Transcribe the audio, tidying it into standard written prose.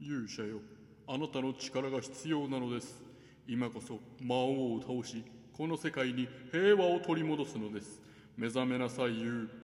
勇者よ、あなたの力が必要なのです。今こそ魔王を倒し、この世界に平和を取り戻すのです。目覚めなさい、ユウ。